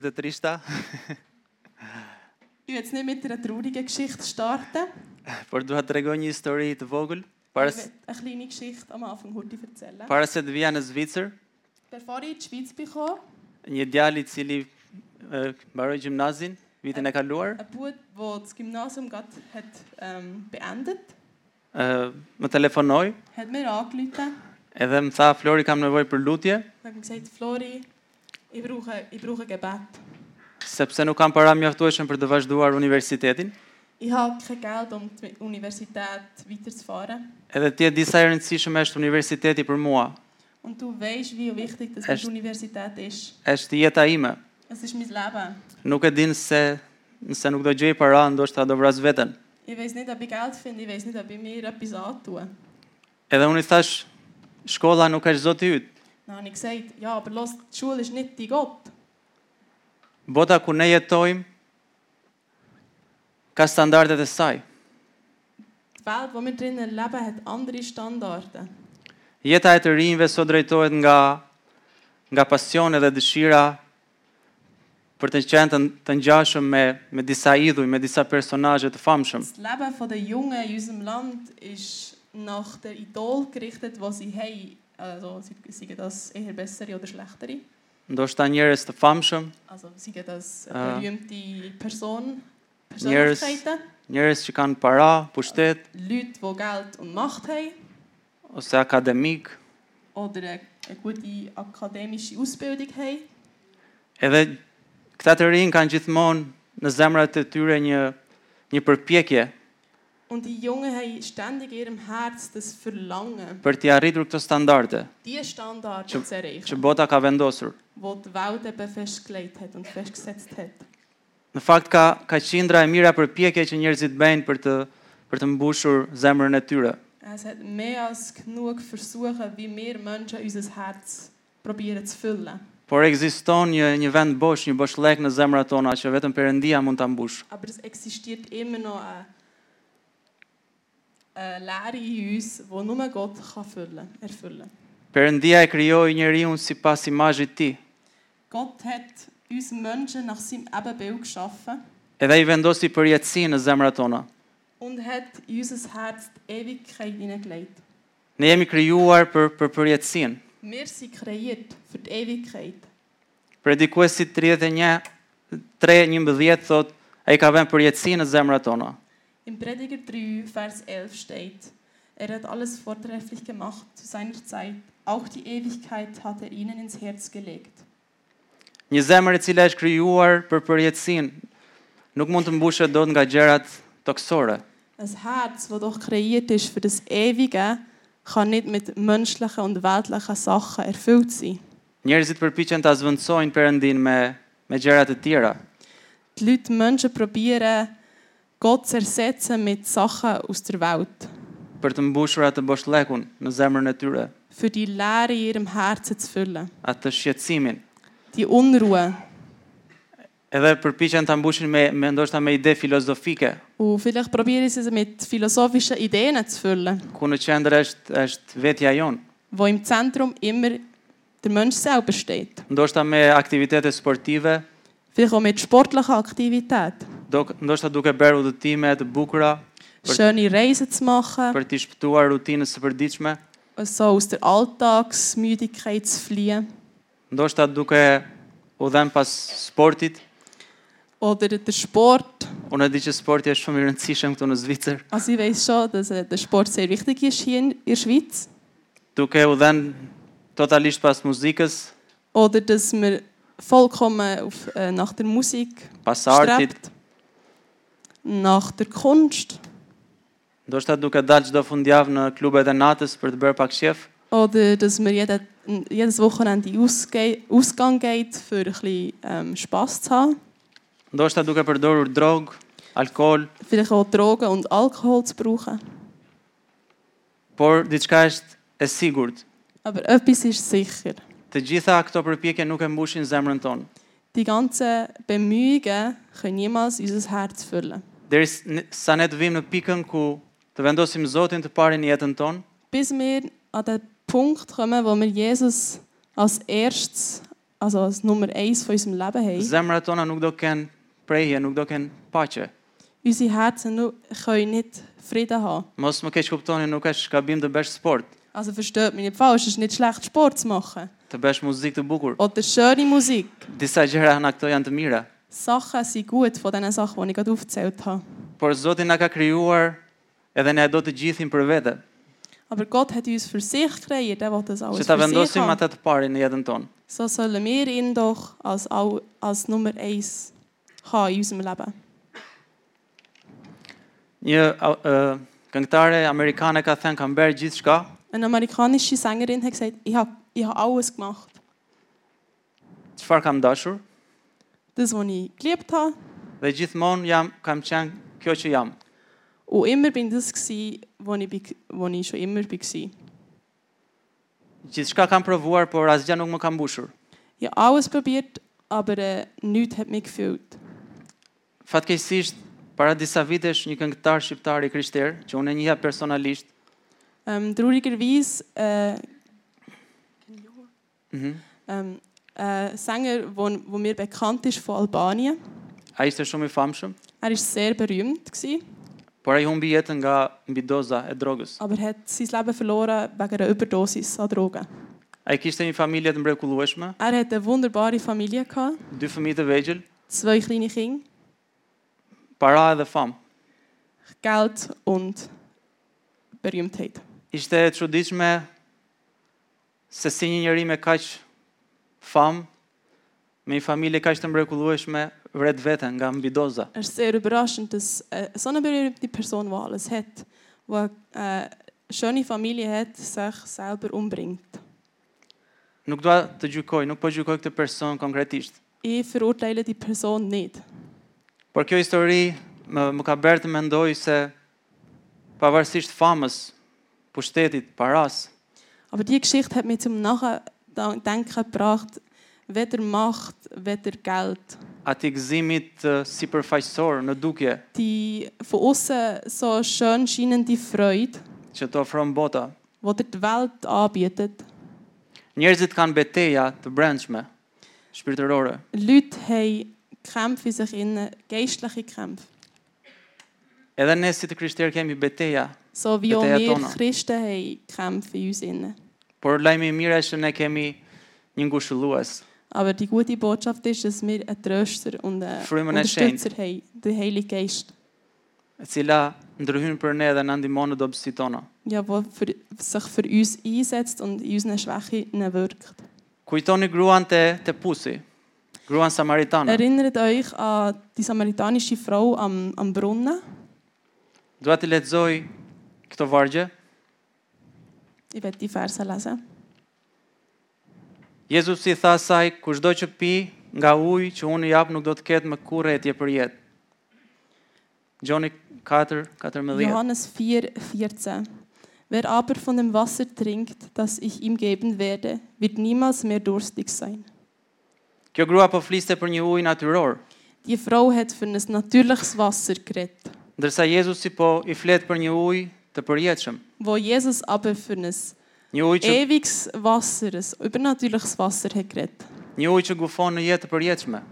De trista, Ich will jetzt nicht mit einer traurigen Geschichte starten. por dua të regoj një histori të vogël, Ich will eine kleine Geschichte am Anfang heute erzählen. para se të vija në Zvicër, Bevor ich in die Schweiz bekam, një djalë I cili mbaroi gjimnazin vitin e kaluar, ein Bub, der das Gymnasium gerade hat, beendet, më telefonoi hat mir angerufen edhe më tha Flori kam nevojë për lutje, und hat mir gesagt, Flori, ich brauche Gebet. sepse nuk kam para mjaftueshme për të vazhduar universitetin. Ich habe kein Geld, um die Universität weiterzufahren. Edhe ti e di sa e rëndësishme është universiteti për mua. Und du weißt, wie wichtig das mit der Universität ist. Është jeta ime. Es ist mein Leben. Nuk e din se nëse nuk do gjej para, ndoshta do vras veten. Ich weiß nicht, ob ich Geld finde, ich weiß nicht, ob ich mir etwas antue. Edhe unë I thash, shkolla nuk është Zoti yt. Dann habe ich gesagt, ja, aber los, die Schule ist nicht dein Gott. Bota ku ne jetojmë ka standardet e saj. Die Welt, in der wir drinnen leben, hat andere Standarden. Jeta e të rinjve sot drejtohet nga pasione dhe dëshira për të qenë të ngjashëm me disa idhuj, me disa personazhe të famshëm. Das Leben der Jungen in unserem Land ist nach der Idol gerichtet, die sie haben. Also, seien das eher bessere oder schlechtere. Ndoshta njerëz të famshëm, Also, seien das berühmte njerëz Persönlichkeiten, njerëz që kanë para, pushtet Leute, die Geld und Macht haben ose akademik. oder eine gute akademische Ausbildung haben. Edhe këta të rinj kanë gjithmonë në zemrat e tyre një përpjekje Und die Jungen haben ständig in ihrem Herz das Verlangen, për të arritur këto standarde diese Standards zu që erreichen, bota ka vendosur. die die Welt eben festgelegt hat und festgesetzt hat. Në fakt ka qindra e mira përpjekje që njerëzit bëjnë për të mbushur zemrën e tyre. Es hat mehr als genug Versuche, wie wir Menschen unser Herz probieren zu füllen. Por ekziston një vend bosh, një boshllëk në zemrat tona që vetëm Perëndia mund ta mbush. Aber es existiert immer noch eine Leere in uns, die nur Gott kann erfüllen. Perëndia e krijoi njeriu sipas imazhit të Tij. Gott hat uns Menschen nach seinem Ebenbild geschaffen Edhe I vendosi përjetësinë në zemrat tona. und hat in unser Herz die Ewigkeit hineingelegt. Ne jemi krijuar për përjetësinë. Wir sind kreiert für die Ewigkeit. Predikuesi 31:3-11 thot, ai ka vënë përjetësinë në zemrat tona. Im Prediger 3, Vers 11 steht, hat alles vortrefflich gemacht zu seiner Zeit. Auch die Ewigkeit hat ihnen ins Herz gelegt. Një zemër e cila është krijuar për përjetësinë nuk mund të mbushet dot nga gjërat toksore. Ein Herz, das doch kreiert ist für das Ewige, kann nicht mit menschlichen und weltlichen Sachen erfüllt sein. Njerëzit përpiqen ta zvendçojnë Perëndin me gjëra të tjera. Die Menschen probieren, Gott zu ersetzen mit Sachen aus der Welt. Për të mbushur atë boshllëkun në zemrën e tyre, Für die Leere in ihrem Herzen zu füllen. atë shqetësimin. Die Unruhe. Edhe përpiqen ta mbushin me ndoshta me ide filozofike, Und vielleicht probieren sie es mit philosophischen Ideen zu füllen, ku në qendër është vetja jon. wo im Zentrum immer der Mensch selber steht. Ndoshta me aktivitete sportive, Vielleicht auch mit sportlicher Aktivität. ndoshta duke bërë udhëtime të bukura Schöne Reisen zu machen, për të shpëtuar rutinës së përditshme, so aus der Alltagsmüdigkeit zu fliehen. ndoshta duke u dhënë pas sportit. Oder der Sport. Unë e di që sporti është shumë I rëndësishëm këtu në Zvicër. Also ich weiss schon, dass der Sport sehr wichtig ist hier in der Schweiz. Duke u dhënë totalisht pas muzikës, Oder dass man vollkommen nach der Musik pas artit, strebt, nach der Kunst. ndoshta duke dalë çdo fundjavë në klubet e natës për të bërë pak shef. Oder dass man jedes Wochenende Ausgang geht, für ein bisschen Spass zu haben. Ndoshta duke përdorur drogë, alkool, Vielleicht auch Drogen und Alkohol zu brauchen. por diçka është e sigurt. Aber etwas ist sicher. Të gjitha këto përpjekje nuk e mbushin zemrën tonë. Die ganzen Bemühungen können niemals unser Herz füllen. Derisa ne të vim në pikën ku të vendosim Zotin të parë në jetën tonë, Bis wir an den Punkt kommen, wo wir Jesus als erstes also als Nummer 1 von unserem Leben haben. Zemrat tona nuk do kenë prehje, nuk do kenë paqe. Unsere Herzen können nicht Frieden haben. Mos më keq kuptoni, nuk është gabim të bësh sport, Also versteht mich nicht falsch, es ist nicht schlecht, Sport zu machen. të bësh muzikë të bukur. Oder schöne Musik. Disa gjëra nga këto janë të mira, Sachen sind gut von diesen Sachen, die ich gerade aufgezählt habe. por Zoti na ka krijuar edhe ne do të gjithim për vete. Aber Gott hat uns für sich kreiert, er will das Që alles ta für sich vendosim haben. atë të parin në jetën tonë. So sollen wir ihn doch als Nummer 1 haben in unserem Leben. Një këngëtare amerikane ka thënë kam bërë gjithçka, Eine amerikanische Sängerin hat gesagt, ich habe alles gemacht. çfarë kam dashur, Das, was ich geliebt habe. dhe gjithmonë kam qenë kjo që jam. Und immer bin das gsi, wo ich schon immer war. Gjithçka kam provuar, por asgjë nuk më ka mbushur. Ich habe alles probiert, aber nichts hat mich gefüllt. Fatkeqësisht, para disa vitesh një këngëtar shqiptar I krishterë, që unë e njihja personalisht, Traurigerweise mhm, Sänger, wo mir bekannt ist von Albanien. ai ishte shumë I famshëm, Er war sehr berühmt, por ai humbi jetën nga mbidoza e drogës. aber hat sein Leben verloren wegen einer Überdosis an Drogen. Ai kishte një familje të mrekullueshme, Er hatte eine wunderbare Familie, 2 fëmijë të vegjël, 2 kleine Kinder, para edhe famë. Geld und Berühmtheit. Ishte e çuditshme se si një njeri me kaq famë, me një familje kaq të mrekullueshme, vret veten nga mbidoza. Es ist sehr überraschend, dass so eine berühmte Person, die alles hat, die eine schöne Familie hat, sich selber umbringt. Nuk dua të gjykoj, nuk po gjykoj këtë person konkretisht. Ich verurteile die Person nicht. Por kjo histori më ka bërë të mendoj se pavarësisht famës, pushtetit, paras, Aber die Geschichte hat mich zum Nachdenken gebracht, weder Macht, weder Geld. ati gëzimit sipërfaqësor në dukje Die von außen so schön scheinende Freude, që të ofron bota. die dir die Welt anbietet. Njerëzit kanë beteja të brendshme, shpirtërore. Leute haben Kämpfe in sich innen, geistliche Kämpfe. Edhe ne si të krishterë kemi beteja, So wie auch Beteja wir tona. Christen haben Kämpfe in uns innen. por lajmi I mirë është që ne kemi një ngushëllues. Aber die gute Botschaft ist, dass wir einen Tröster und einen Frymën e Unterstützer haben, den Heiligen Geist. E cila ndryhyn për ne dhe na ndihmon në dobësitë tona. Ja, der sich für uns einsetzt und in unseren Schwächen wirkt. Kujtoni gruan te Pusi, gruan samaritane. Erinnert euch an die samaritanische Frau am Brunnen. Dua të lexoj këto vargje. Ich werde die Verse lesen. Jezusi I tha asaj, kushdo që pi nga uji që unë I jap nuk do të ketë më kurrë etje për jetë. Gjoni 4:14. Johannes 4,14. Wer aber von dem Wasser trinkt, das ich ihm geben werde, wird niemals mehr durstig sein. Kjo grua po fliste për një ujë natyror, Die Frau hat für ein natürliches Wasser geredet, ndërsa Jezusi po I flet për një ujë të përjetshëm, wo Jesus aber für ein një ujë që ewiges Wasser, ein übernatürliches Wasser hat geredet. një ujë që gufon në jetë të përjetshme.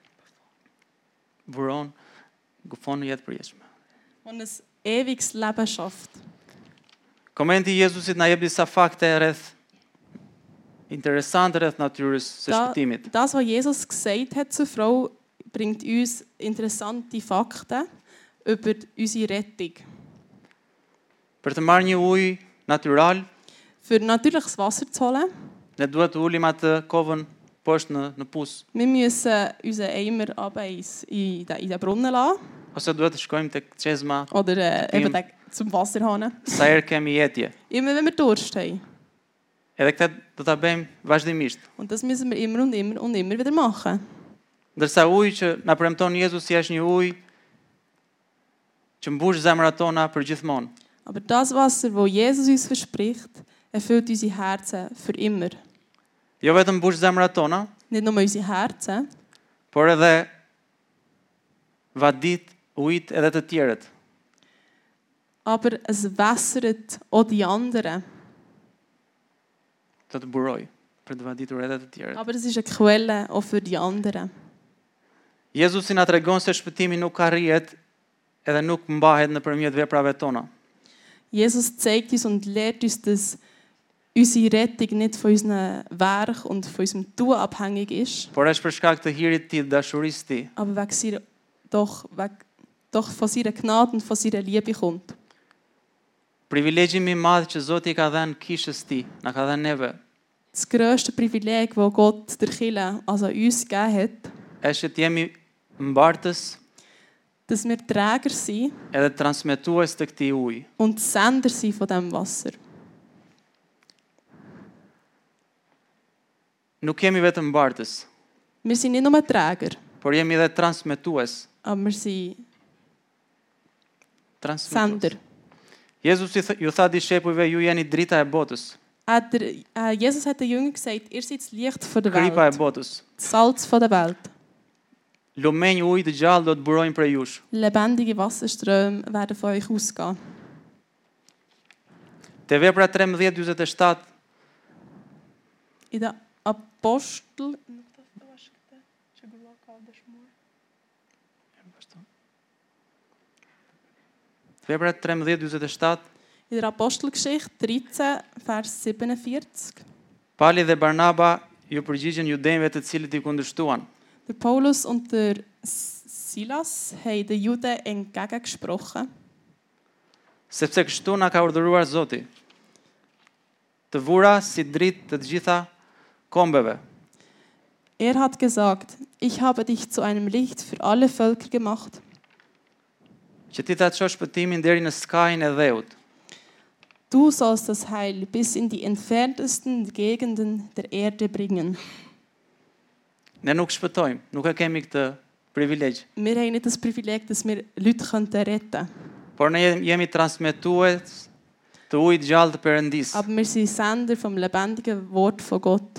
Buron gufon në jetë të përjetshme. Und ein ewiges Leben schafft. Komenti I Jezusit na jep disa fakte rreth interesante rreth natyrës së shpëtimit. Das, was Jesus gesagt hat zur Frau, bringt uns interessante Fakten über unsere Rettung. Për të marrë një ujë natyral, Für natürliches Wasser zu holen, ne duhet të ulim atë kovën poshtë në pus, wir müssen unseren Eimer in den Brunnen lassen ose duhet të shkojmë tek çezma oder eben zum Wasserhahn. sa herë kemi jetje. Immer wenn wir Durst haben. Edhe këtë do ta bëjmë vazhdimisht. Und das müssen wir immer und immer und immer wieder machen. Ndërsa uji që na premton Jezusi është një ujë që mbush zemrat tona për gjithmonë. Aber das Wasser, das Jesus uns verspricht, erfüllt unsere Herzen für immer. Jo vetëm mbush zemrat tona, Nicht nur unsere Herzen, por edhe vadit, ujit edhe të tjerët. aber es wässert auch die anderen. Të buroj. për të vaditur edhe të tjerët. Aber es ist eine Quelle auch für die anderen. Jezusi na tregon se shpëtimi nuk arrihet edhe nuk mbahet nëpërmjet veprave tona. Jesus zeigt uns und lehrt uns, dass unsere Rettung nicht von unseren Werk und von unserem Tun abhängig ist, Por është për shkak të hirit të tij, dashurisë të tij. aber doch von seiner Gnade und von seiner Liebe kommt. Privilegji më i madh që Zoti i ka dhënë kishës së tij, na ka dhënë neve, Das grösste Privileg, das Gott der Kirche, also uns gegeben hat, është që të jemi mbartës dass wir Träger sind edhe transmetues të këtij uji. und Sender sind von diesem Wasser. Nuk jemi vetëm mbartës, Wir sind nicht nur Träger, por jemi edhe transmetues. aber wir sind Sender. Jezusi ju tha discepujve, ju jeni drita e botës, Jesus hat den Jüngern gesagt, ihr seid das Licht von der kripa e Welt, botës. das Salz von der Welt. Lumenj ujë të gjallë do të burojnë prej jush. Lebendige Wasserströme werden von euch ausgehen. Te vepra 13:47 In der Apostel... Vepra 13:47 In der Apostelgeschichte 13, Vers 47. Pali dhe Barnaba ju përgjigjen judenjve të cilët I kundërshtuan. Der Paulus und der Silas haben den Juden entgegengesprochen, Sepse kështu na ka urdhëruar Zoti. Të vura si dritë të gjitha kombeve. er hat gesagt, ich habe dich zu einem Licht für alle Völker gemacht, Që ti ta çosh shpëtimin deri në skajin e dheut. du sollst das Heil bis in die entferntesten Gegenden der Erde bringen. Ne nuk shpëtojmë, nuk e kemi këtë privilegj. Wir haben nicht das Privileg, dass wir Leute retten können, Por ne jemi transmetues të ujit gjallë të Perëndis. aber wir sind Sender vom lebendigen Wort von Gott.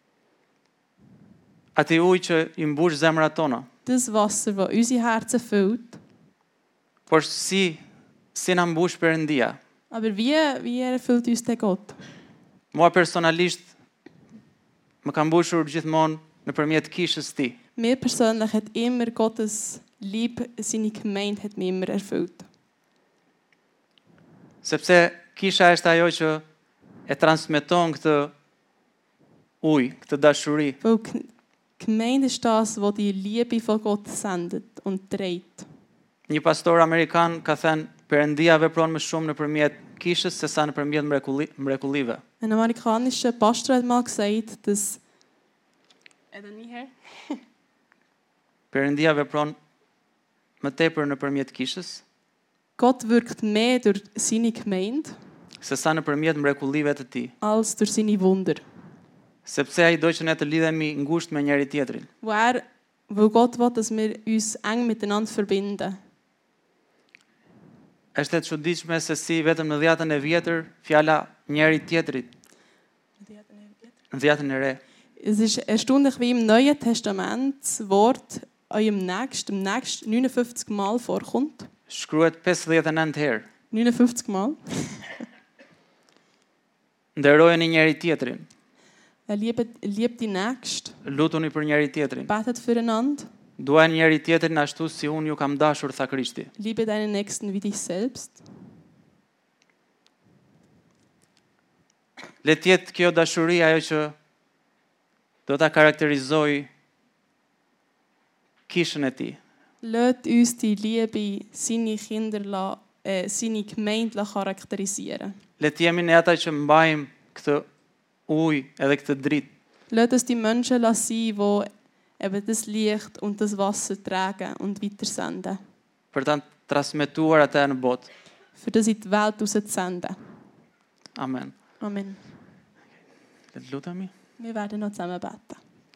Ati ujë që I mbush zemrat tona. Das Wasser, das unsere Herzen füllt. Por si na mbush Perëndia. Aber wie erfüllt uns der Gott? Mua personalisht më ka mbushur gjithmonë nëpërmjet kishës së Tij. Mir persönlich hat immer Gottes Liebe, seine Gemeinde hat mich immer erfüllt. Sepse kisha është ajo që e transmeton këtë ujë, këtë dashuri. Weil die Gemeinde ist das, was die Liebe von Gott sendet und trägt. Një pastor amerikan ka thënë Perëndia vepron më shumë nëpërmjet kishës se sa nëpërmjet mrekullive. Ein amerikanischer Pastor hat mal gesagt, dass Perëndia vepron më tepër nëpërmjet kishës Gott wirkt mehr durch seine Gemeinde se sa nëpërmjet mrekullive të Tij. als durch seine Wunder. Sepse ai do që ne të lidhemi ngushtë me njëri tjetrin. Weil Gott will, dass wir uns eng miteinander verbinden. Është e çuditshme se si vetëm në dhjetën e vjetër fjala njëri tjetrit, në dhjetën e re, Es ist erstaunlich, wie im Neuen Testament das Wort im nächsten 59 Mal vorkommt. shkruhet 59 herë. 59 Mal. Nderojeni njëri tjetrin, Liebt die Nächsten, lutuni për njëri tjetrin. betet füreinander, Duani njëri tjetrin ashtu si unë ju kam dashur, tha Krishti. liebe deinen Nächsten wie dich selbst. Le të jetë kjo dashuri ajo që do ta karakterizoj kishën e Tij. Lasst uns die Liebe seine seine Gemeinde charakterisieren. Le të jemi ne ata që mbajmë këtë ujë edhe këtë dritë. Lasst uns die Menschen sein, die eben das Licht und das Wasser tragen und weitersenden. Për ta transmetuar atë në botë. Für das in die Welt rauszusenden. Amen. Amen. Le të lutemi. Wir werden noch zusammen beten.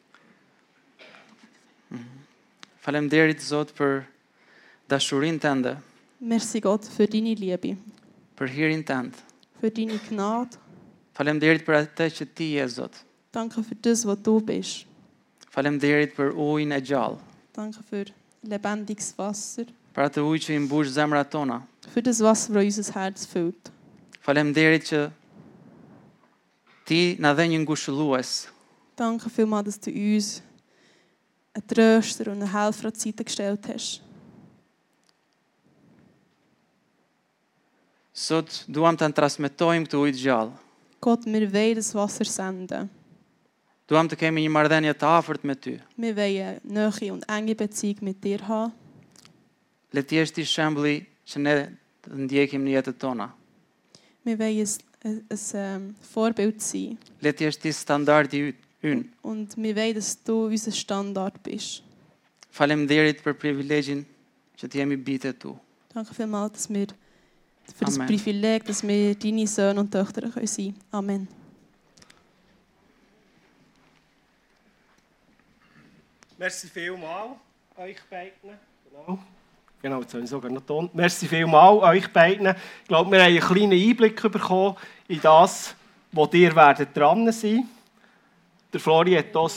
Faleminderit Zot për dashurinë tënde, Merci Gott für deine Liebe, për hirin tënd. für deine Gnade. Faleminderit për atë që Ti je Zot. Danke für das, was du bist. Faleminderit për ujin e gjallë, Danke für lebendiges Wasser, për atë ujë që I mbush zemrat tona. für das Wasser, das unser Herz füllt. Faleminderit që Ti na dhe një ngushëllues, Danke vielmals, dass du uns einen Tröster und einen Helfer an die Seite gestellt hast. Sot duam të transmetojmë këtë ujë të gjallë. Gott, wir wollen das Wasser senden. Duam të kemi një marrëdhënie të afërt me ty. Wir wollen eine neue und enge Beziehung mit dir haben. Le të jesh ti shembulli që ne të ndjekim në jetën tona. Wir wollen ein Vorbild sein. Le të jesh ti standardi ynë. Und wir wollen, dass du unser Standard bist. Faleminderit për privilegjin që të jemi bijtë tu. Danke vielmals, dass wir für das Amen. Privileg, dass wir deine Söhne und Töchter sein können. Amen. Merci vielmals euch beiden. Genau, jetzt habe ich sogar noch Ton. Merci vielmals euch beiden. Ich glaube, wir haben einen kleinen Einblick bekommen in das, wo ihr dran sein werdet. Der Flori hat das